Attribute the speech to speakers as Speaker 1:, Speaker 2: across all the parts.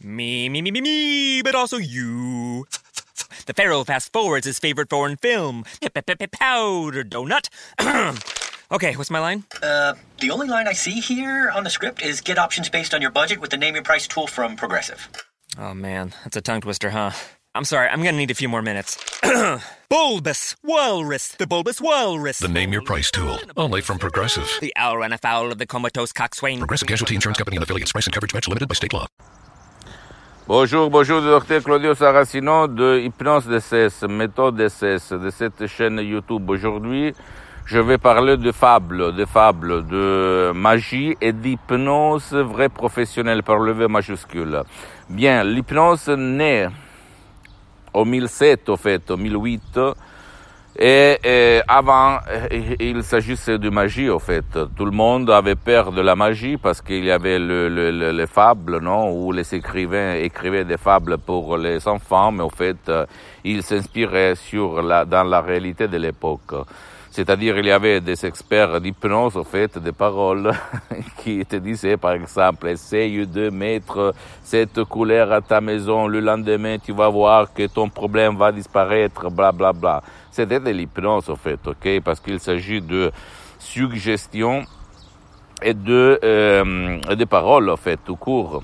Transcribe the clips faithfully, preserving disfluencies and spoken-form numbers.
Speaker 1: Me, me, me, me, me, but also you. The Pharaoh fast forwards his favorite foreign film, Powder Donut. Okay, what's my line?
Speaker 2: Uh, the only line I see here on the script is get options based on your budget with the Name Your Price tool from Progressive.
Speaker 1: Oh man, that's a tongue twister, huh? I'm sorry, I'm gonna need a few more minutes. Bulbous Walrus, the Bulbous Walrus.
Speaker 3: The Name Your Price tool, only from Progressive.
Speaker 1: The owl ran afoul of the comatose coxswain.
Speaker 3: Progressive Casualty Insurance Company and affiliates. Price and coverage match limited by state law.
Speaker 4: Bonjour, bonjour, docteur Claudio Saracino de Hypnose D C S, méthode D C S, de cette chaîne YouTube. Aujourd'hui, je vais parler de fables, de fables, de magie et d'hypnose vraie professionnelle par le V majuscule. Bien, l'hypnose naît au mille sept, au fait, au mille huit, et, et avant, il s'agissait de magie, au fait. Tout le monde avait peur de la magie parce qu'il y avait le, le, le, les fables, non, où les écrivains écrivaient des fables pour les enfants, mais au fait, ils s'inspiraient sur la, dans la réalité de l'époque. C'est-à-dire, il y avait des experts d'hypnose, au fait, des paroles qui te disaient, par exemple, essaye de mettre cette couleur à ta maison, le lendemain, tu vas voir que ton problème va disparaître, bla, bla, bla. C'était de l'hypnose, au fait, ok? Parce qu'il s'agit de suggestion et de, euh, de paroles, au fait, tout court.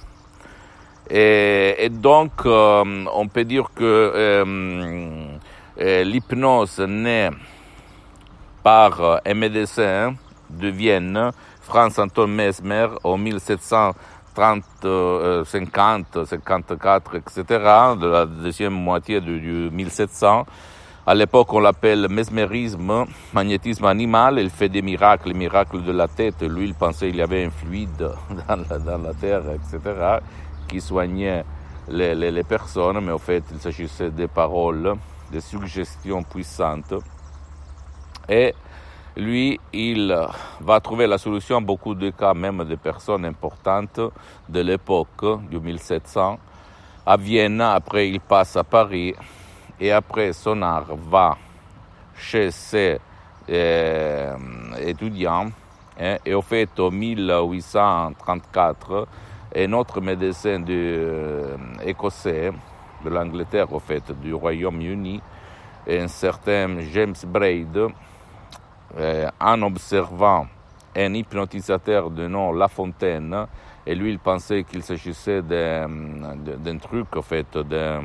Speaker 4: Et, et donc, euh, on peut dire que euh, euh, l'hypnose naît par un médecin de Vienne, Franz Anton Mesmer, en mille sept cent trente, cinquante, cinquante-quatre, et cetera, de la deuxième moitié du, du mille sept cents. À l'époque, on l'appelle mesmérisme, magnétisme animal. Il fait des miracles, les miracles de la tête. Lui, il pensait qu'il y avait un fluide dans la, dans la terre, et cetera, qui soignait les, les, les personnes, mais en fait, il s'agissait des paroles, des suggestions puissantes. Et lui, il va trouver la solution à beaucoup de cas, même de personnes importantes de l'époque, du mille sept cents. À Vienne, après il passe à Paris, et après son art va chez ses euh, étudiants. Hein, et au fait, en mille huit cent trente-quatre, un autre médecin de, euh, écossais, de l'Angleterre, au fait, du Royaume-Uni, un certain James Braid, Euh, en observant un hypnotisateur de nom La Fontaine, et lui il pensait qu'il s'agissait d'un, d'un truc, en fait, d'un,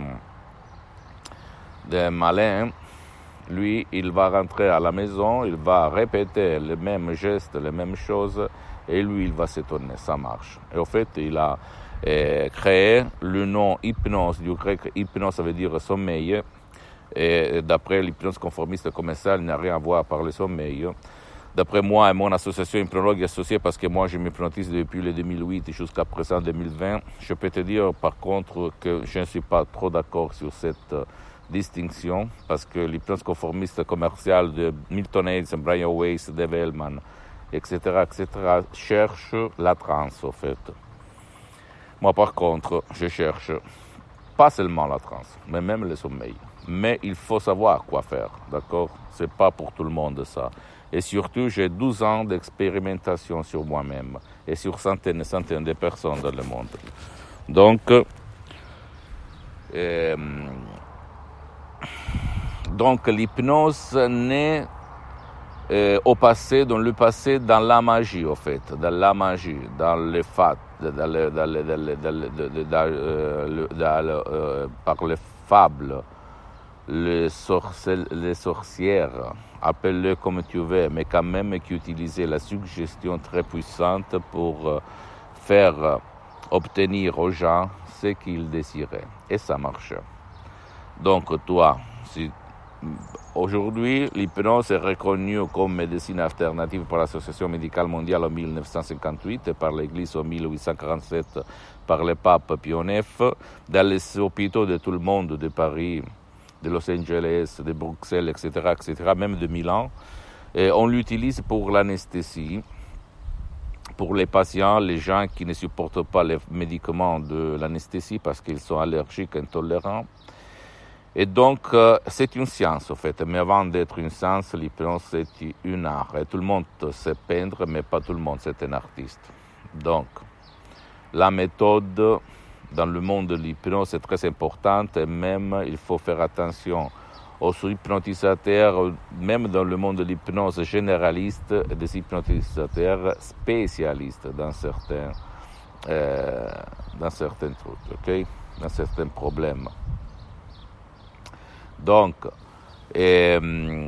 Speaker 4: d'un malin. Lui, il va rentrer à la maison, il va répéter les mêmes gestes, les mêmes choses, et lui il va s'étonner, ça marche. Et en fait, il a euh, créé le nom hypnose, du grec hypnose, ça veut dire sommeil. Et d'après l'hypnose conformiste commerciale, il n'a rien à voir par le sommeil. D'après moi et mon association hypnologue associée, parce que moi je m'hypnotise depuis le deux mille huit jusqu'à présent deux mille vingt, je peux te dire par contre que je ne suis pas trop d'accord sur cette euh, distinction, parce que l'hypnose conformiste commerciale de Milton Erickson, Brian Weiss, Dave Hellman, et cetera, et cetera, cherche la transe, en fait. Moi par contre, je cherche pas seulement la transe, mais même le sommeil. Mais il faut savoir quoi faire, d'accord? C'est pas pour tout le monde, ça. Et surtout, j'ai douze ans d'expérimentation sur moi-même et sur centaines et centaines de personnes dans le monde. Donc, euh, donc l'hypnose naît euh, au passé, dans le passé, dans la magie, au fait, dans la magie, dans les fat, dans le, dans le, dans le, dans le, dans le, dans le, dans le, euh, par les fables. Les, sorcel, les sorcières, appelle-le comme tu veux, mais quand même qui utilisaient la suggestion très puissante pour euh, faire euh, obtenir aux gens ce qu'ils désiraient. Et ça marche. Donc toi, si, aujourd'hui, l'hypnose est reconnue comme médecine alternative par l'Association médicale mondiale en mille neuf cent cinquante-huit et par l'Église en mille huit cent quarante-sept par le pape Pie neuf, dans les hôpitaux de tout le monde, de Paris, de Los Angeles, de Bruxelles, et cetera, et cetera, même de Milan. Et on l'utilise pour l'anesthésie, pour les patients, les gens qui ne supportent pas les médicaments de l'anesthésie parce qu'ils sont allergiques, intolérants. Et donc, euh, c'est une science, en fait. Mais avant d'être une science, l'hypnose, c'est un art. Et tout le monde sait peindre, mais pas tout le monde, c'est un artiste. Donc, la méthode dans le monde de l'hypnose, c'est très important, et même il faut faire attention aux hypnotisateurs, même dans le monde de l'hypnose généraliste, et des hypnotisateurs spécialistes dans certains, euh, dans certains trucs, ok, dans certains problèmes. Donc, et,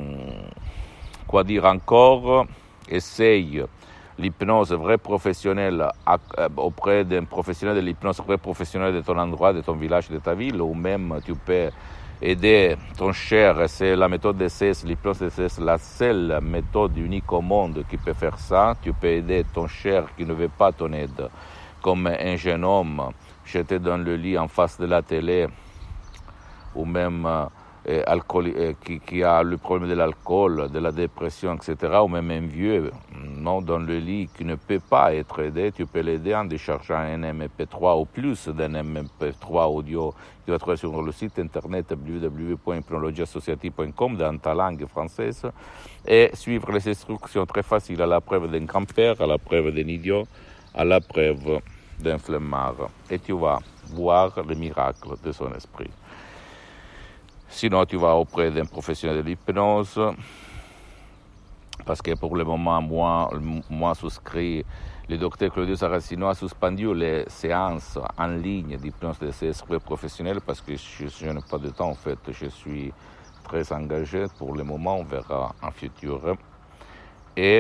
Speaker 4: quoi dire encore? Essaye l'hypnose vraie professionnelle auprès d'un professionnel de l'hypnose vrai professionnel de ton endroit, de ton village, de ta ville, ou même tu peux aider ton cher. C'est la méthode D C S, l'hypnose D C S, la seule méthode unique au monde qui peut faire ça. Tu peux aider ton cher qui ne veut pas ton aide, comme un jeune homme jeté dans le lit en face de la télé, ou même euh, alcool, euh, qui, qui a le problème de l'alcool, de la dépression, et cetera, ou même un vieux non, dans le lit qui ne peut pas être aidé. Tu peux l'aider en déchargeant un M P trois ou plus d'un M P trois audio que tu vas trouver sur le site internet w w w point hypnologie associative point com dans ta langue française, et suivre les instructions très faciles, à la preuve d'un grand-père, à la preuve d'un idiot, à la preuve d'un flemmard, et tu vas voir le miracle de son esprit. Sinon, tu vas auprès d'un professionnel de l'hypnose, parce que pour le moment, moi, moi souscrit, le docteur Claudio Saracino a suspendu les séances en ligne d'hypnose de ces esprits professionnels parce que je, je n'ai pas de temps, en fait. Je suis très engagé pour le moment, on verra en futur. Et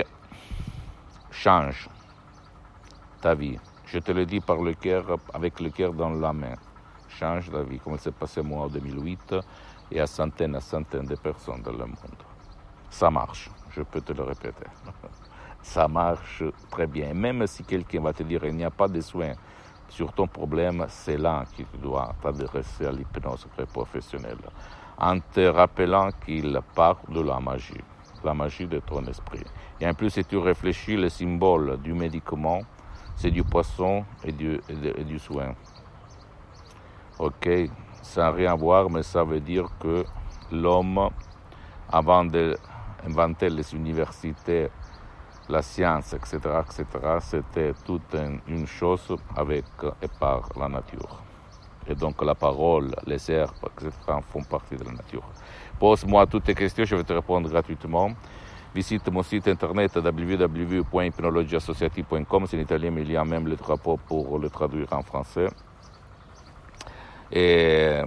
Speaker 4: change ta vie. Je te le dis par le cœur, avec le cœur dans la main. Change ta vie, comme il s'est passé moi en deux mille huit et à centaines et centaines de personnes dans le monde. Ça marche, je peux te le répéter. Ça marche très bien. Même si quelqu'un va te dire qu'il n'y a pas de soins sur ton problème, c'est là que tu dois t'adresser à l'hypnose professionnelle, en te rappelant qu'il part de la magie, la magie de ton esprit. Et en plus, si tu réfléchis, le symbole du médicament, c'est du poisson et du, et de, et du soin. Ok, ça n'a rien à voir, mais ça veut dire que l'homme, avant d'inventer les universités, la science, et cetera, et cetera, c'était toute une chose avec et par la nature. Et donc la parole, les herbes, et cetera font partie de la nature. Pose-moi toutes tes questions, je vais te répondre gratuitement. Visite mon site internet w w w point hypnologie associative point com, c'est en italien, mais il y a même le drapeau pour le traduire en français. Et,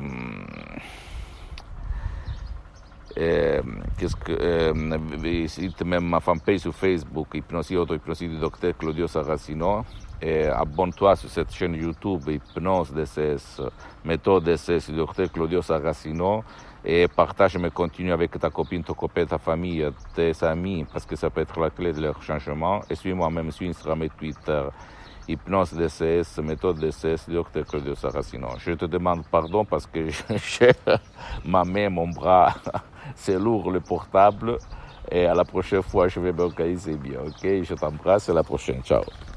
Speaker 4: et qu'est-ce que euh, visite même ma fanpage sur Facebook, Hypnosie Auto-Hypnosie du docteur Claudio Saracino, et abonne-toi sur cette chaîne YouTube Hypnose D C S, méthode D C S du docteur Claudio Saracino, et partage mes contenus avec ta copine, ton copain, ta famille, tes amis, parce que ça peut être la clé de leur changement. Et suis-moi même sur Instagram et Twitter, Hypnose D C S, méthode D C S, docteur Claudio Saracino. Je te demande pardon parce que j'ai ma main, mon bras, c'est lourd le portable. Et à la prochaine fois, je vais m'organiser bien, ok? Je t'embrasse, à la prochaine, ciao.